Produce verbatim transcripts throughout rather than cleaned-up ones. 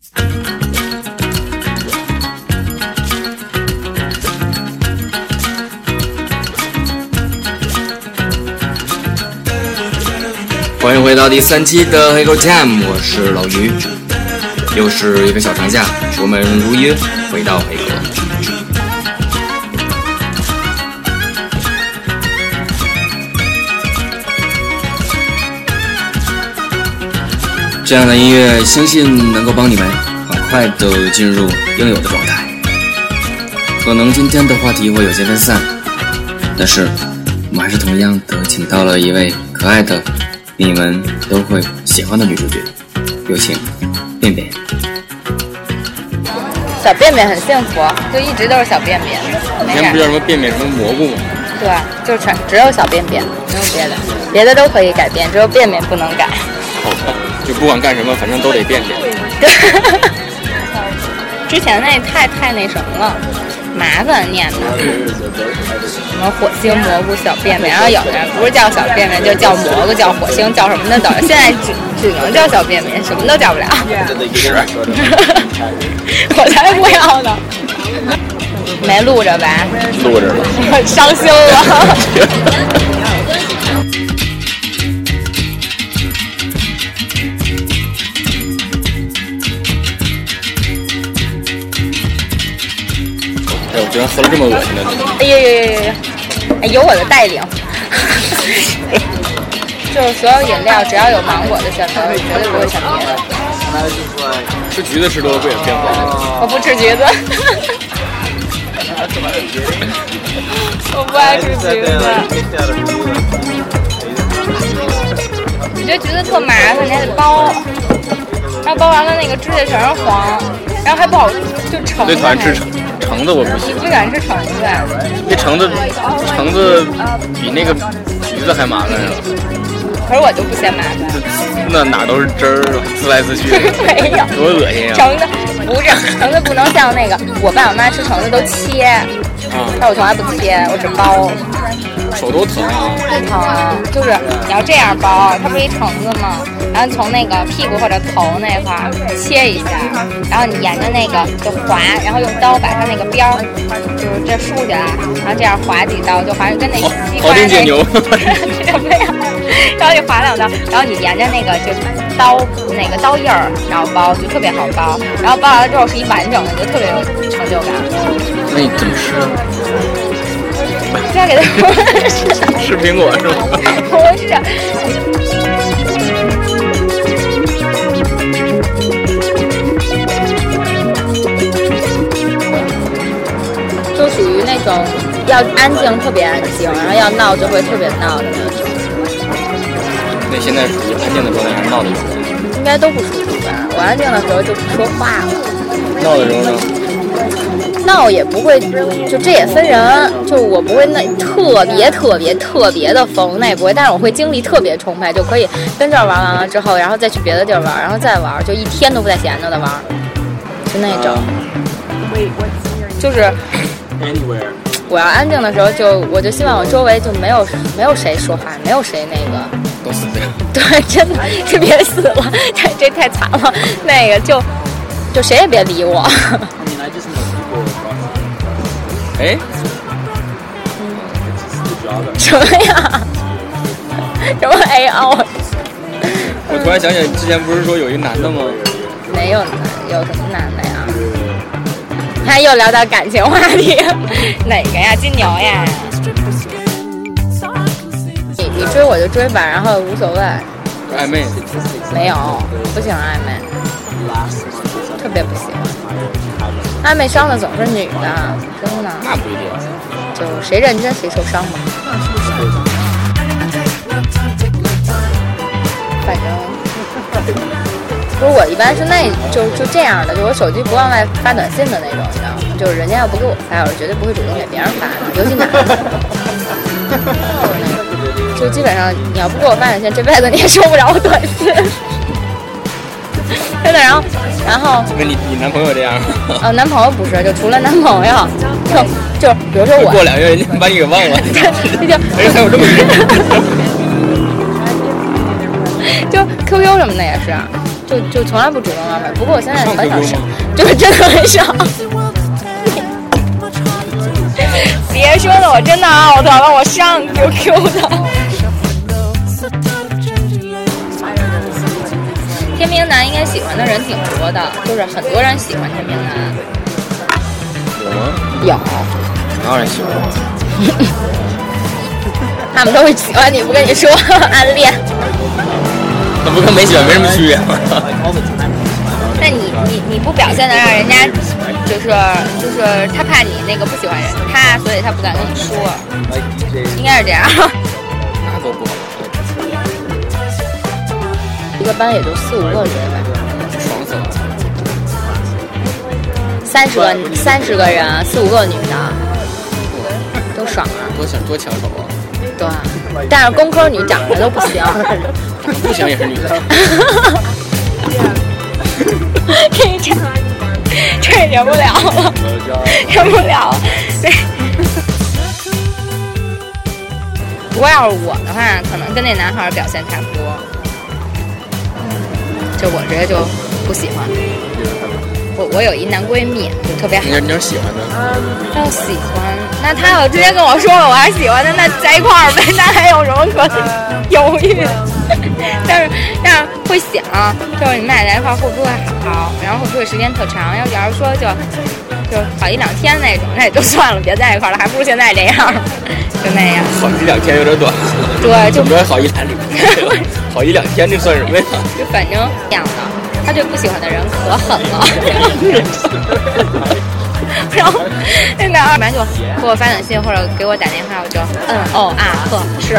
欢迎回到第三期的黑狗 Time， 我是老于，又是一个小长假，我们如约回到黑狗。这样的音乐相信能够帮你们很快的进入应有的状态。可能今天的话题会有些分散，但是我们还是同样的请到了一位可爱的你们都会喜欢的女主角，有请便便。 小便便很幸福，就一直都是小便便。 以前不叫什么便便什么蘑菇吗？ 对，就全只有小便便，没有别的，别的都可以改变，只有便便不能改。 就不管干什么，反正都得便便。 对，之前那太太那什么了，麻烦念的，什么火星蘑菇小便便，然后有的人不是叫小便便，就叫蘑菇，叫火星，叫什么的都有。现在只只能叫小便便，什么都叫不了。 是， 我才不要呢。没录着吧？ 录着了。 伤心了。 哎，我居然喝了这么恶心的东西！ 哎呦呦呦呦！哎，有我的带领。就是所有饮料只要有芒果的选择，我绝对不会选别的。 吃橘子吃多了不也变黄了？ 我不吃橘子。我不爱吃橘子。我觉得橘子特麻烦，你还得剥，然后剥完了那个指甲全是黄，然后还不好就橙。 最讨厌吃橙橙子，我不行。 你最喜欢吃橙子？ 这橙子橙子比那个橘子还麻烦啊！ 可是我就不嫌麻烦。 那哪都是汁儿，滋来滋去的。 没有， 多恶心啊！ 橙子不是橙子，不能像那个我爸我妈吃橙子都切， 啊， 但我从来不切，我只剥。 手都疼啊！ 不疼，就是你要这样剥，它不是一橙子吗？然后从那个屁股或者头那块儿切一下，然后你沿着那个就划，然后用刀把它那个边儿就是这竖起来，然后这样划几刀，就划跟那西瓜那牛什么呀？然后你划两刀，然后你沿着那个就刀那个刀印儿，然后剥就特别好剥，然后剥完了之后是一完整的，就特别有成就感。 那你怎么吃啊？ 这样给他吃苹果是吗？ 不是。就属于那种要安静特别安静，然后要闹就会特别闹的那种。 那现在属于安静的状态还是闹的状态？ 应该都不舒服吧？我安静的时候就不说话了。 闹的时候呢？ 闹也不会，就这也分人，就我不会那特别特别特别的疯，那也不会，但是我会精力特别充沛，就可以跟这儿玩完了之后，然后再去别的地儿玩，然后再玩，就一天都不带闲着的玩，就那种。就是我要安静的时候就，就我就希望我周围就没有没有谁说话，没有谁那个都死掉。 对，真的就别死了，这这太惨了，那个就就谁也别理我。 哎， 什么呀？什么 A O？ 我突然想起来，之前不是说有一男的吗？ 没有男，有什么男的呀？他又聊到感情话题，哪个呀？金牛呀？你你追我就追吧，然后无所谓。 暧昧？ 没有，不喜欢暧昧，特别不喜欢。暧昧伤的总是女的，真的。 那不一定， 就谁认真谁受伤吧。反正，不是我一般是那就就这样的，就我手机不往外发短信的那种，你知道吗？就是人家要不给我发，我是绝对不会主动给别人发的，尤其男的。就基本上你要不给我发短信，这辈子你也收不着我短信。真的，然后，然后， 跟你你男朋友这样？ 呃，男朋友不是，就除了男朋友，就就比如说我过两月人家把你给忘了， 这就哎还有这么一个， 就 Q Q 什么的也是， 就就从来不主动要妹。不过我现在很少上，就是真的很少。别说的，我真的 out 了，我上 Q Q 的。天平男应该喜欢的人挺多的，就是很多人喜欢天平男。 有吗？ 有。 哪有人喜欢我？ 他们都会喜欢你，不跟你说暗恋。 那不跟没喜欢没什么区别吗？ 那你你你不表现的让人家就是就是他怕你那个不喜欢人他，所以他不敢跟你说，应该是这样。 那都不好。 一个班也就四五个人吧， 爽死了。 三十个三十个人，四五个女的，都爽啊！ 多抢多抢手啊！ 对，但是工科女长得都不行， 不行也是女的。 这这这忍不了了，忍不了了。对。不过要是我的话，可能跟那男孩表现差不多。就我直接就不喜欢。我我有一男闺蜜，就特别好。 你你是喜欢的？ 要喜欢，那他要直接跟我说了我还喜欢的，那在一块儿呗，那还有什么可犹豫的？但是但是会想，就是你们俩在一块儿会不会好，然后会不会时间特长？要假如说就就好一两天那种，那也就算了，别在一块儿了，还不如现在这样，就那样。 好一两天有点短。 对，就不好一两天，好一两天这算什么呀？ 就反正这样的。他对不喜欢的人可狠了，然后那男二般就给我发短信或者给我打电话，我就嗯哦啊呵是。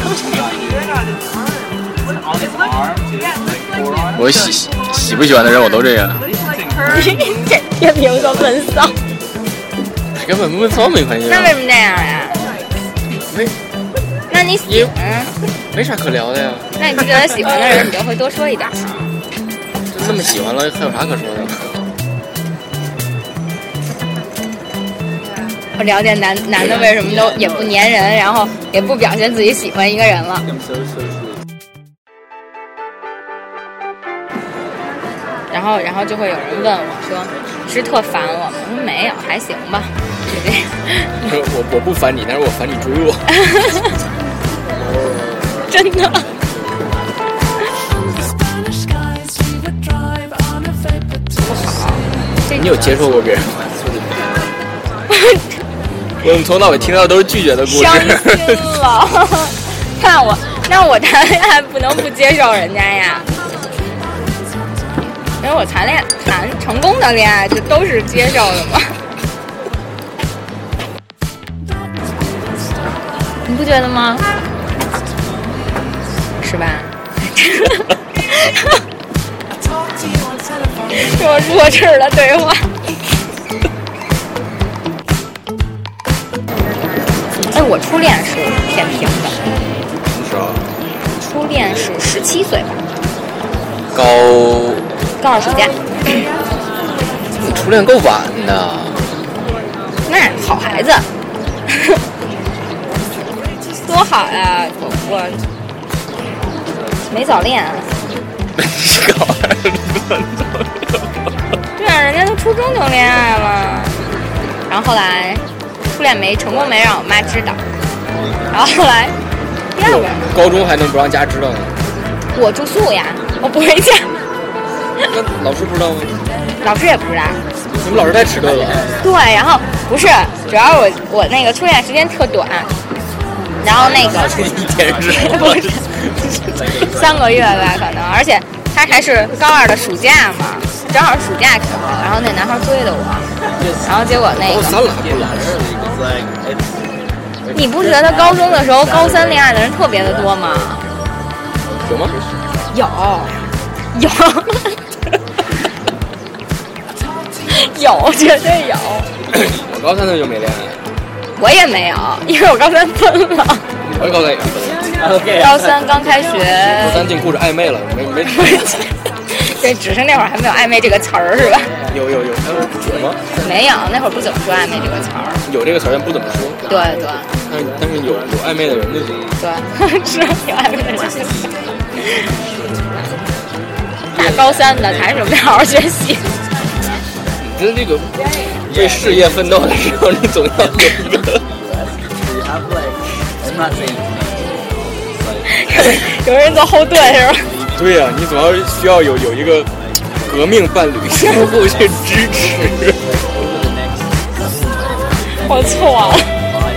我喜喜不喜欢的人我都这样。 这天平说闷骚， 跟闷不闷骚没关系。 那为什么这样呀？ 没。 那你喜欢？ 没啥可聊的呀。 那你不觉得喜欢的人你就会多说一点吗？ 那么喜欢了，还有啥可说的？ 我了解男男的为什么都也不粘人，然后也不表现自己喜欢一个人了。然后，然后就会有人问我说：“是特烦我吗？”我说：“没有，还行吧。”就这样。 我我不烦你，但是我烦你追我。 真的。 你有接受过别人吗？我们从头到尾听到的都是拒绝的故事。 伤心了。看我，那我谈恋爱不能不接受人家呀。因为我谈恋爱谈成功的恋爱，就都是接受的嘛。你不觉得吗？是吧？是我弱智的对话。哎，我初恋是天平的。 什么时候？ 初恋是十七岁吧。 高高二暑假。 你初恋够晚的。 那好孩子。多好呀！我我没早恋。 高二对啊，人家都初中就恋爱了，然后后来初恋没成功，没让我妈知道，然后后来第二个高中还能不让家知道呢？ 我住宿呀，我不回家。 那老师不知道吗？ 老师也不知道。 你们老师太迟钝了。 对，然后不是，主要我我那个初恋时间特短，然后那个一天是不是三个月吧可能，而且他还是高二的暑假嘛，正好暑假时候，然后那男孩追的我，然后结果那个高三了还不来？ 你不觉得高中的时候高三恋爱的人特别的多吗？ 有吗？ 有，有，有，绝对有。 我高三的就没恋爱。 我也没有，因为我高三分了。 我高三也分了。 高三刚开学。 高三进故事暧昧了，没没。 对，只是那会儿还没有暧昧这个词儿是吧？ 有有有，有吗？ 没有，那会儿不怎么说暧昧这个词儿。 有这个词儿，但不怎么说。 对对。 但是但是有有暧昧的人就行。 对，是有暧昧的人。大高三的，还是准备好好学习。 你这个为事业奋斗的时候，你总要有一个。 有人做后盾是吧？ 对呀、啊，你总要需要有有一个革命伴侣相互去支持。 我错了。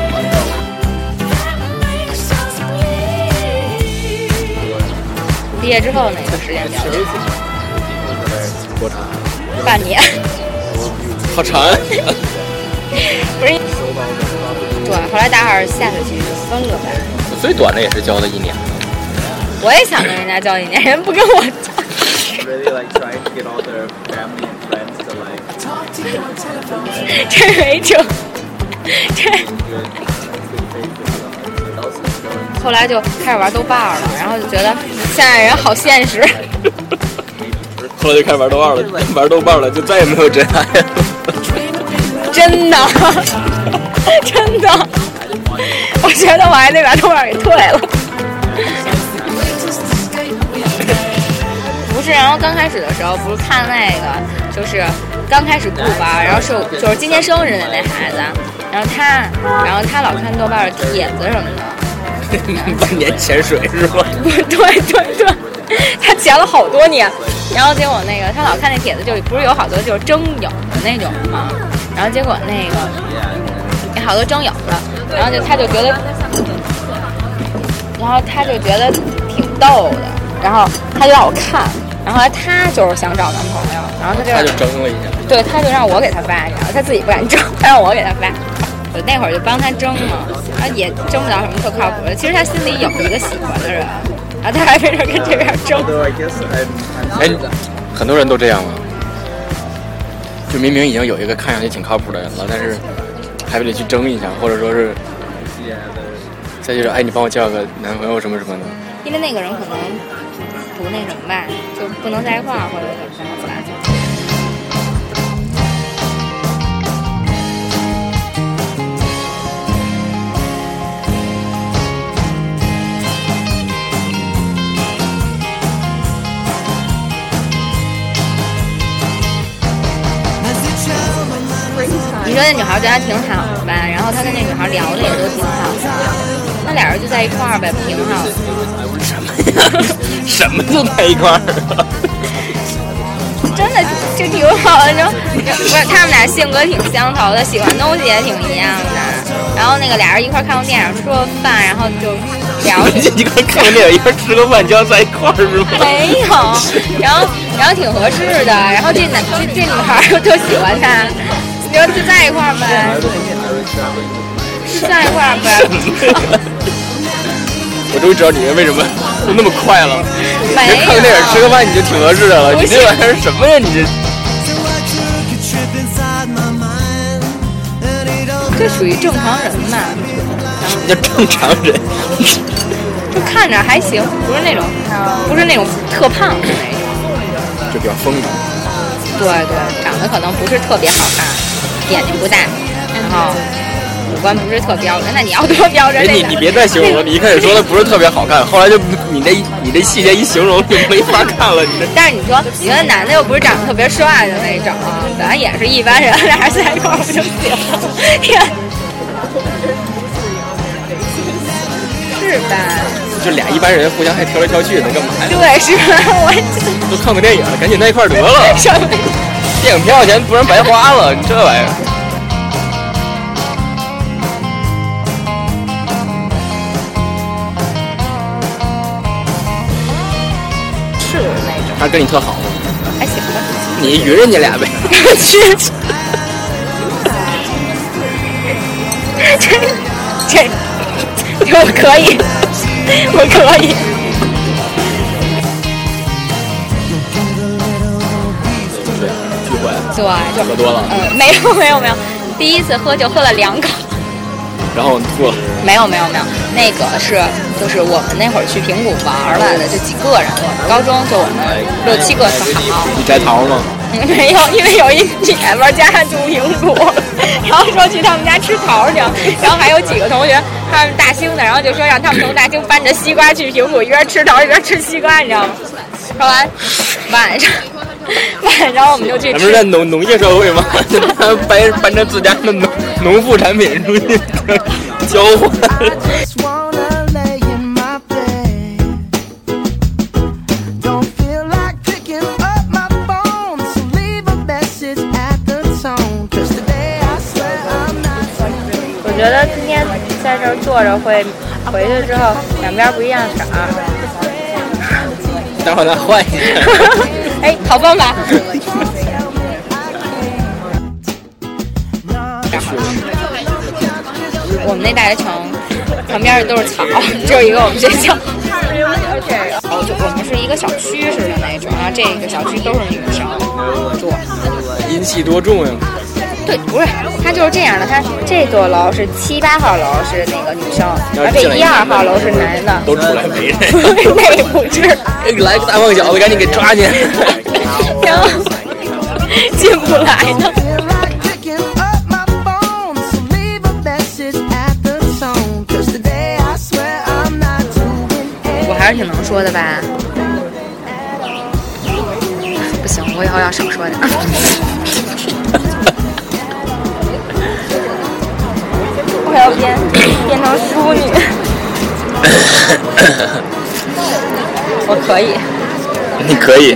毕业之后那个时间比较长， 多长？ 半年。 好长啊！ 不是，对，后来大二下学期就分了呗。 最短的也是交了一年。 我也想跟人家交一年，人不跟我交。这没辙，这。后来就开始玩豆瓣了，然后就觉得现在人好现实。 后来就开始玩豆瓣了，玩豆瓣了，就再也没有真爱了。 真的，真的，我觉得我还得把豆瓣给退了。不是，然后刚开始的时候不是看那个，就是刚开始不玩，然后是就是今年生日的那孩子，然后他，然后他老看豆瓣的帖子什么的。 万年潜水是吧？ 对对对，他潜了好多年，然后结果那个他老看那帖子，就不是有好多就是征友的那种嘛，然后结果那个有好多征友的，然后就他就觉得，然后他就觉得挺逗的，然后他就让我看，然后后来他就是想找男朋友，然后他就他就征了一下， 对，他就让我给他发，然后他自己不敢征，他让我给他发。我那会儿就帮他争嘛，然后也争不到什么特靠谱的。其实他心里有一个喜欢的人，然后他还非得跟这边争。 哎，很多人都这样啊，就明明已经有一个看上去挺靠谱的人了，但是还得去争一下，或者说是再就是哎，你帮我介绍个男朋友什么什么的。 因为那个人可能不那什么吧，就不能在一块儿，或者怎么怎么来。你说那女孩对他挺好的吧，然后他跟那女孩聊的也都挺好的，那俩人就在一块儿呗，挺好的。 什么呀？什么就在一块儿？ 真的就挺好的，就不是他们俩性格挺相投的，喜欢东西也挺一样的。然后那个俩人一块看过电影，吃过饭，然后就聊。 一块看过电影，一块吃个饭，就要在一块儿是吗？ 没有，然后然后挺合适的，然后这男这这女孩又特喜欢他。你说就在一块儿呗，在一块儿呗。 我终于知道你为什么那么快了。 没有， 看个电影吃个饭你就挺合适的了。你这玩意儿什么呀？你这这属于正常人嘛？ 什么叫正常人？ 就看着还行，不是那种不是那种特胖的那种， 就比较丰满。 对对，长得可能不是特别好看。眼睛不大，然后五官不是特标准。那你要多标准？ 你你别再形容了，你一开始说的不是特别好看，后来就你这你这细节一形容就没法看了。你这。 但是你说你说男的又不是长得特别帅的那种，咱也是一般人，俩人在一块儿不就行了？是吧？ 就俩一般人互相还挑来挑去的，干嘛呀？ 对，是吧？我都看个电影了，赶紧在一块儿得了。 什么？ 电影票钱不然白花了，你这玩意儿。 是那种。 他跟你特好吗？ 还行吧。 你匀人家俩呗。 去。这这，我可以，我可以。对， 就喝多了。 嗯，没有没有没有，第一次喝就喝了两口， 然后吐了。 没有没有没有，那个是就是我们那会儿去平谷玩来的，就几个人，我们高中就我们六七个特好。 你摘桃吗？ 没有，因为有一姐们家住平谷，然后说去他们家吃桃去，然后还有几个同学他们大兴的，然后就说让他们从大兴搬着西瓜去平谷，一边吃桃一边吃西瓜，你知道吗？ 说完晚上晚上我们就去吃。 咱们是在农农业社会吗？搬搬着自家的农农副产品出去交换。 我觉得今天在这儿坐着会回去之后两边不一样色儿。 待会儿再换一下。 哎，好办法。我们那大学城旁边都是草，只有一个我们学校。而且就我们是一个小区似的那种，然后这个小区都是女生住。 阴气多重呀！ 对，不是，它就是这样的。它这座楼是七八号楼是那个女生，然后这一二号楼是男的。 都出来围着。 那不是。 来个大胖小子，赶紧给抓进。 然后进不来呢。我还是挺能说的吧？不行，我以后要少说点。我要变变成淑女。我可以。 你可以。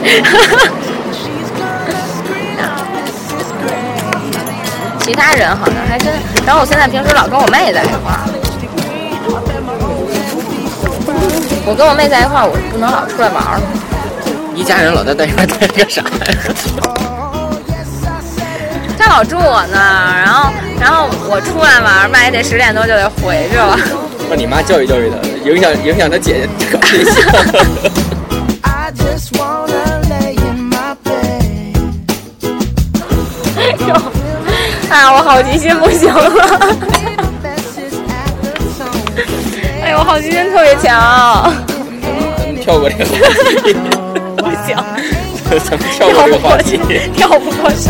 其他人好像还真，然后我现在平时老跟我妹在一块儿。我跟我妹在一块儿，我不能老出来玩儿。 一家人老在在一块待着干啥呀？ 他老住我那儿，然后然后我出来玩，妈也得十点多就得回去了。 让你妈教育教育他，影响影响他姐姐搞对象。 啊，我好奇心不行了。哎呦，我好奇心特别强。 咱们跳过这个话题。 不行， 咱们跳过这个话题， 跳不过去。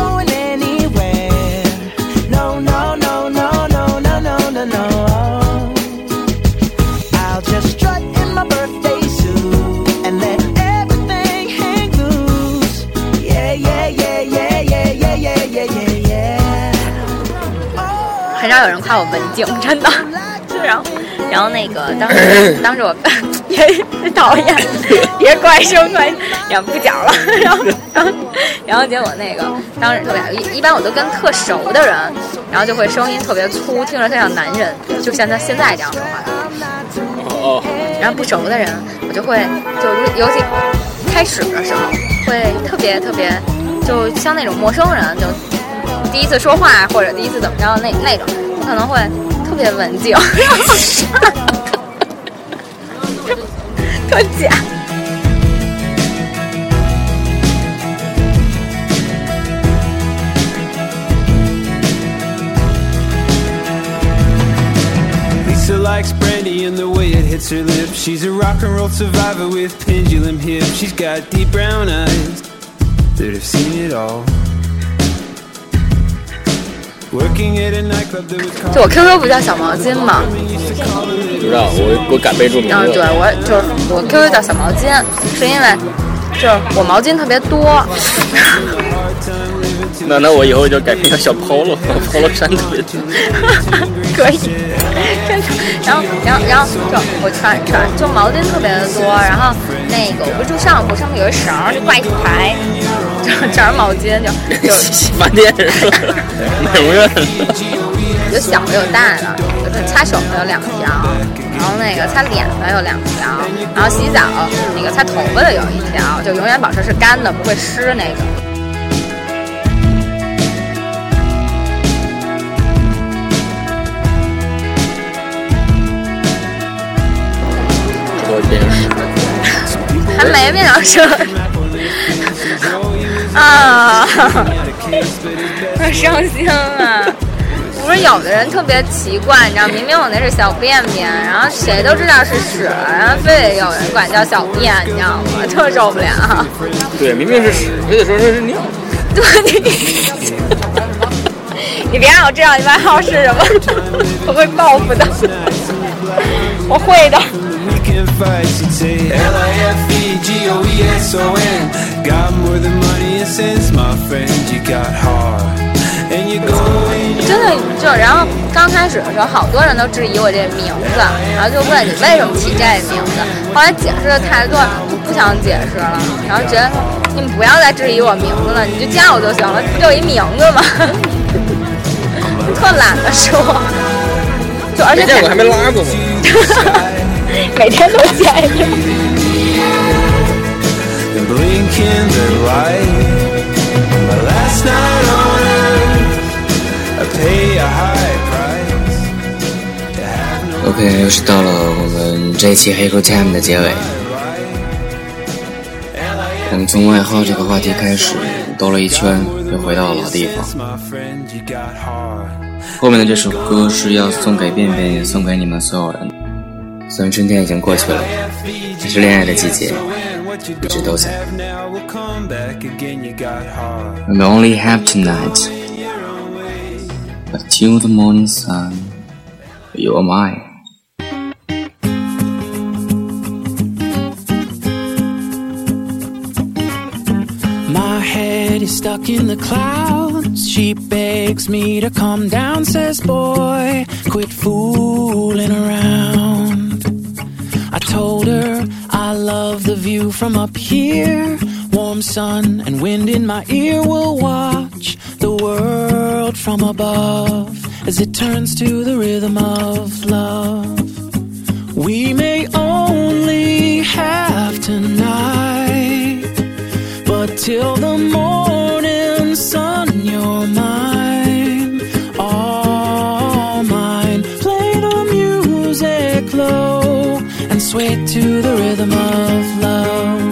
很少有人夸我文静，真的。然后，然后那个当时当时我别讨厌，别怪声怪，然后不讲了。然后然后然后结果那个当时特别一一般我都跟特熟的人，然后就会声音特别粗，听着特像男人，就像他现在这样说话的。 哦。 然后不熟的人，我就会就尤其开始的时候会特别特别，就像那种陌生人就。第一次说话或者第一次怎么着那那种，我可能会特别文静，特假。 Lisa likes brandy and the way it hits her lips. She's a rock and roll survivor with pendulum hips. She's got deep brown eyes that have seen it all. 就我 Q Q 不叫小毛巾吗？ 不知道，我我敢备注名字。 嗯，对，我就是我 Q Q 叫小毛巾，是因为就是我毛巾特别多。 那那我以后就改名叫小 Polo，Polo 衫特别多。 可以，真的。然后然后然后就我穿穿就毛巾特别的多，然后那个我不住上铺，上面有一绳就挂一排。全是毛巾，就就洗发店是吧？美容院。 有小的有大的，就是擦手的有两条，然后那个擦脸的有两条，然后洗澡那个擦头发的有一条，就永远保持是干的，不会湿那种。 这都变成湿， 还没变成湿。啊，好伤心啊！不是有的人特别奇怪，你知道，明明我那是小便便，然后谁都知道是屎，然后非得有人管叫小便，你知道吗？特受不了。 对，明明是屎，非得说这是尿。 对，你你别让我知道你外号是什么，我会报复的。我会的。 picking fights. You'd say L I F E G O E S O N. Got more than money and sense, my friend. You got heart and you go in. 真的就然后刚开始的时候，好多人都质疑我这名字，然后就问你为什么起这名字。后来解释的太多，就不想解释了，然后觉得你们不要再质疑我名字了，你就加我就行了，不就一名字吗？特懒得说，就而且没见过还没拉过吗？ 每天都见着。 OK， 又是到了我们这一期黑狗 Time 的结尾。我们从外号这个话题开始兜了一圈，又回到了老地方。后面的这首歌是要送给便便，也送给你们所有人。虽然春天已经过去了，还是恋爱的季节，一直都在。We only have tonight, but till the morning sun, you are mine. My head is stuck in the clouds. She begs me to calm down, says, boy, quit fooling around. I told her I love the view from up here. Warm sun and wind in my ear. Will watch the world from above as it turns to the rhythm of love. We may only have tonight, but till the morning sun, you're mine, all mine. Play the music low and sway to the rhythm of love.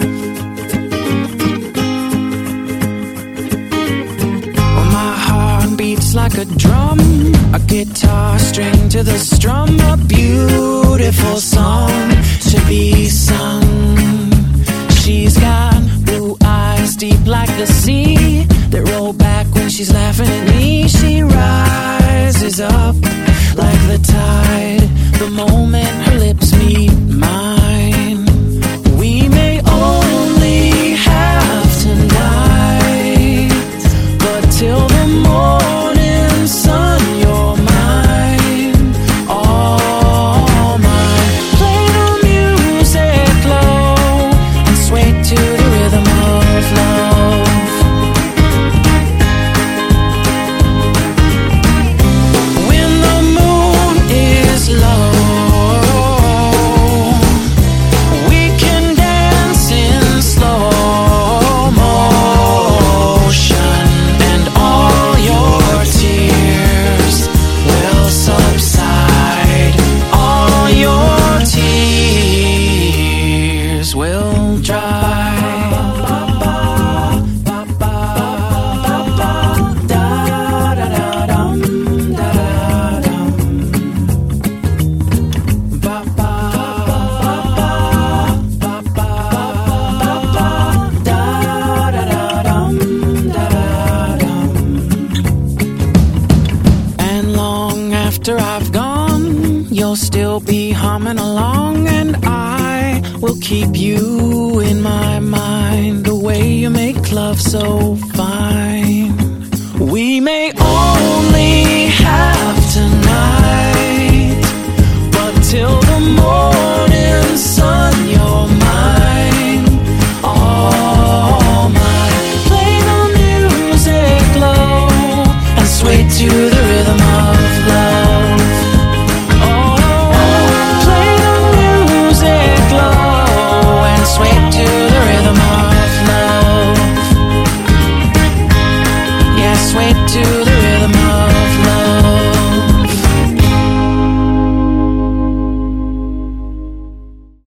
Well, my heart beats like a drum, a guitar string to the strum, a beautiful song to be sung. She's got blue eyes deep like the sea that roll back when she's laughing at me. She rises up like the tide the moment her lips meet mine. We may only have tonight, but till the morning sun, you're mine, all mine. Play the music low and sway to the rhythm of love. When the moon is low, we can dance in slow motion, and all your tears will subside. All your tears will dry. And long after I've gone, you'll still be humming along, and I will keep you in my mind. The way you make love so